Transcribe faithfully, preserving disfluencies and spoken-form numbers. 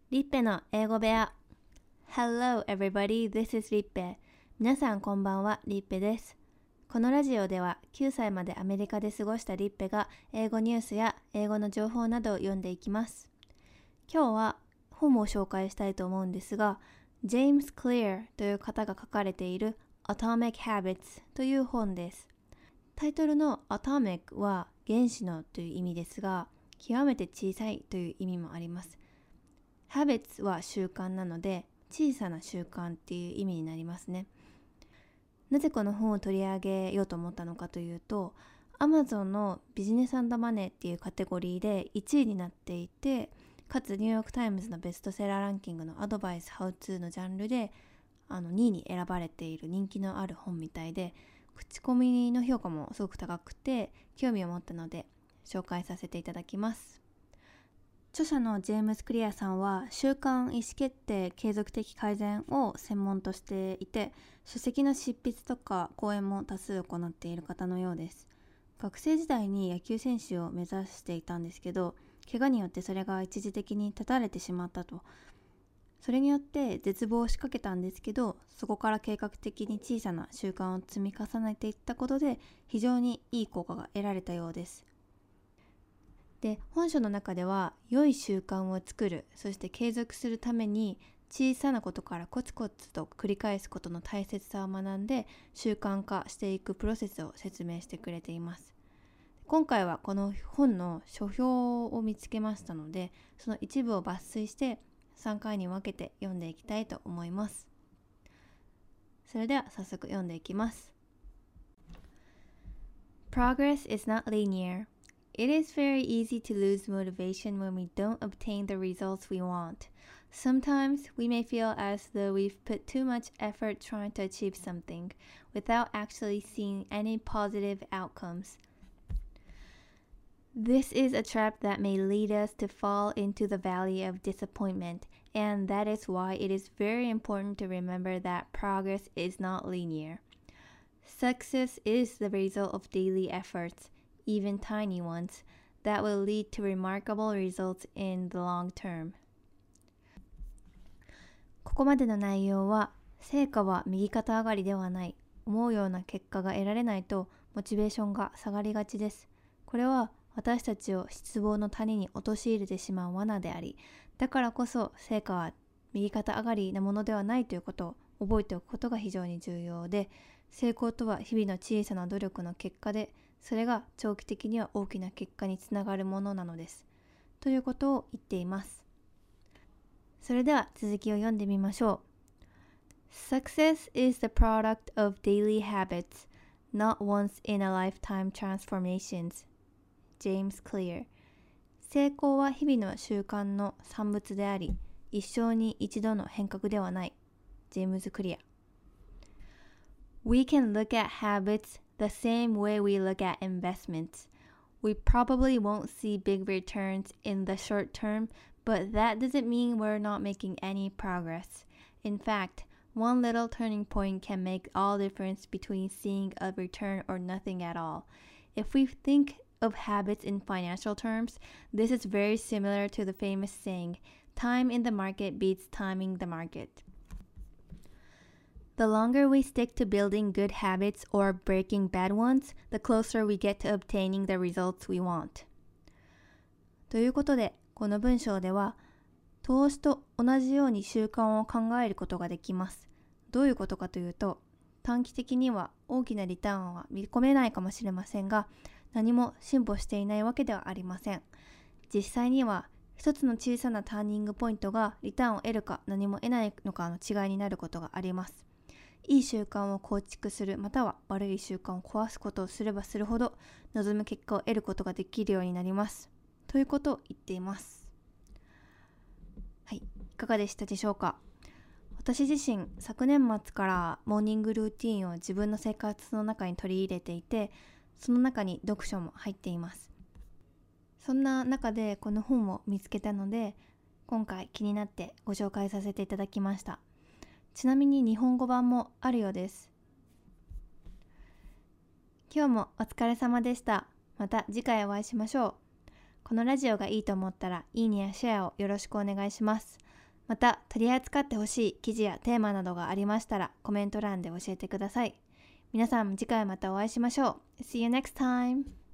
リッペの英語部屋。 Hello everybody, this is リッペ。皆さんこんばんは、リッペです。このラジオではきゅうさいまでアメリカで過ごしたリッペが英語ニュースや英語の情報などを読んでいきます。今日は本を紹介したいと思うんですが、ジェームス・クリアという方が書かれている Atomic Habits という本です。タイトルの Atomic は原子のという意味ですが、極めて小さいという意味もあります。Habits は習慣なので、小さな習慣っていう意味になりますね。なぜこの本を取り上げようと思ったのかというと、Amazon のビジネス&マネーっていうカテゴリーでいちいになっていて、かつニューヨークタイムズのベストセラーランキングのアドバイス・ハウツーのジャンルであのにいに選ばれている人気のある本みたいで、口コミの評価もすごく高くて興味を持ったので紹介させていただきます。著者のジェームス・クリアさんは習慣意思決定継続的改善を専門としていて、書籍の執筆とか講演も多数行っている方のようです。学生時代に野球選手を目指していたんですけど、怪我によってそれが一時的に断たれてしまったと。それによって絶望をしかけたんですけど、そこから計画的に小さな習慣を積み重ねていったことで非常にいい効果が得られたようです。で、本書の中では良い習慣を作る、そして継続するために小さなことからコツコツと繰り返すことの大切さを学んで習慣化していくプロセスを説明してくれています。今回はこの本の書評を見つけましたので、その一部を抜粋してさんかいに分けて読んでいきたいと思います。それでは早速読んでいきます。 Progress is not linear.It is very easy to lose motivation when we don't obtain the results we want. Sometimes we may feel as though we've put too much effort trying to achieve something without actually seeing any positive outcomes. This is a trap that may lead us to fall into the valley of disappointment, and that is why it is very important to remember that progress is not linear. Success is the result of daily efforts,even tiny ones, that will lead to remarkable results in the long term. ここまでの内容は、成果は右肩上がりではない、思うような結果が得られないとモチベーションが下がりがちです。これは私たちを失望の谷に陥れてしまう罠であり、だからこそ成果は右肩上がりなものではないということを覚えておくことが非常に重要で、成功とは日々の小さな努力の結果で、それが長期的には大きな結果につながるものなのです。ということを言っています。それでは続きを読んでみましょう。Success is the product of daily habits, not once in a lifetime transformations. James Clear。 成功は日々の習慣の産物であり、一生に一度の変革ではない。ジェームズ・クリア。We can look at habits the same way we look at investments. We probably won't see big returns in the short term, but that doesn't mean we're not making any progress. In fact, one little turning point can make all difference between seeing a return or nothing at all. If we think of habits in financial terms, this is very similar to the famous saying, time in the market beats timing the market.The longer we stick to building good habits or breaking bad ones, the closer we get to obtaining the results we want. ということで、この文章では、投資と同じように習慣を考えることができます。どういうことかというと、短期的には大きなリターンは見込めないかもしれませんが、何も進歩していないわけではありません。実際には、一つの小さなターニングポイントがリターンを得るか何も得ないのかの違いになることがあります。いい習慣を構築する、または悪い習慣を壊すことをすればするほど望む結果を得ることができるようになります。ということを言っています。はい、いかがでしたでしょうか。私自身、昨年末からモーニングルーティーンを自分の生活の中に取り入れていて、その中に読書も入っています。そんな中でこの本を見つけたので、今回気になってご紹介させていただきました。ちなみに日本語版もあるようです。今日もお疲れ様でした。また次回お会いしましょう。このラジオがいいと思ったらいいねやシェアをよろしくお願いします。 また取り扱ってほしい記事やテーマなどがありましたらコメント欄で教えてください。皆さん次回またお会いしましょう。See you next time!